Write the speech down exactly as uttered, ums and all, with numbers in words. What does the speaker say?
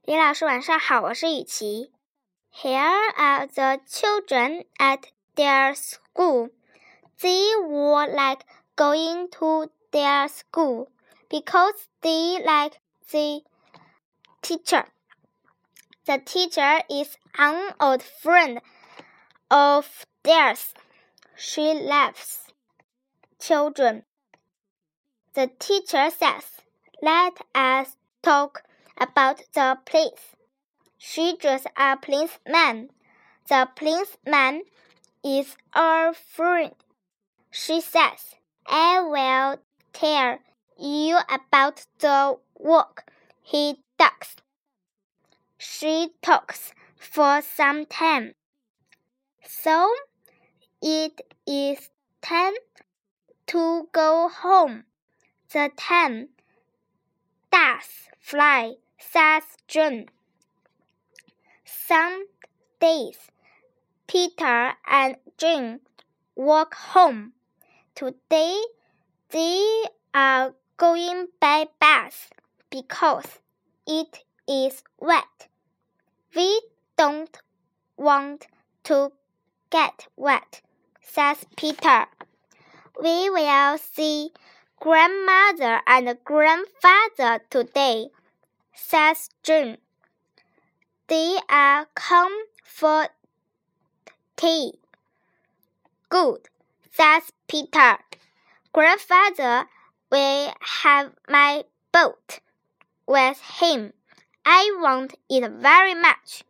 李老师晚上好，我是雨琪。Here are the children at their school. They were like going to their school because they like the teacher. The teacher is an old friend of theirs. She laughs. Children. The teacher says, let us talk about the prince. She draws a policeman. The policeman is our friend. She says, I will tell you about the work he does. She talks for some time. So it is time to go home. The time does fly, says John. Some days, Peter and Jane walk home. Today, they are going by bus because it is wet. We don't want to get wet, says Peter. We will see grandmother and grandfather today, says June. They are come for tea. Good, says Peter. Grandfather will have my boat with him. I want it very much.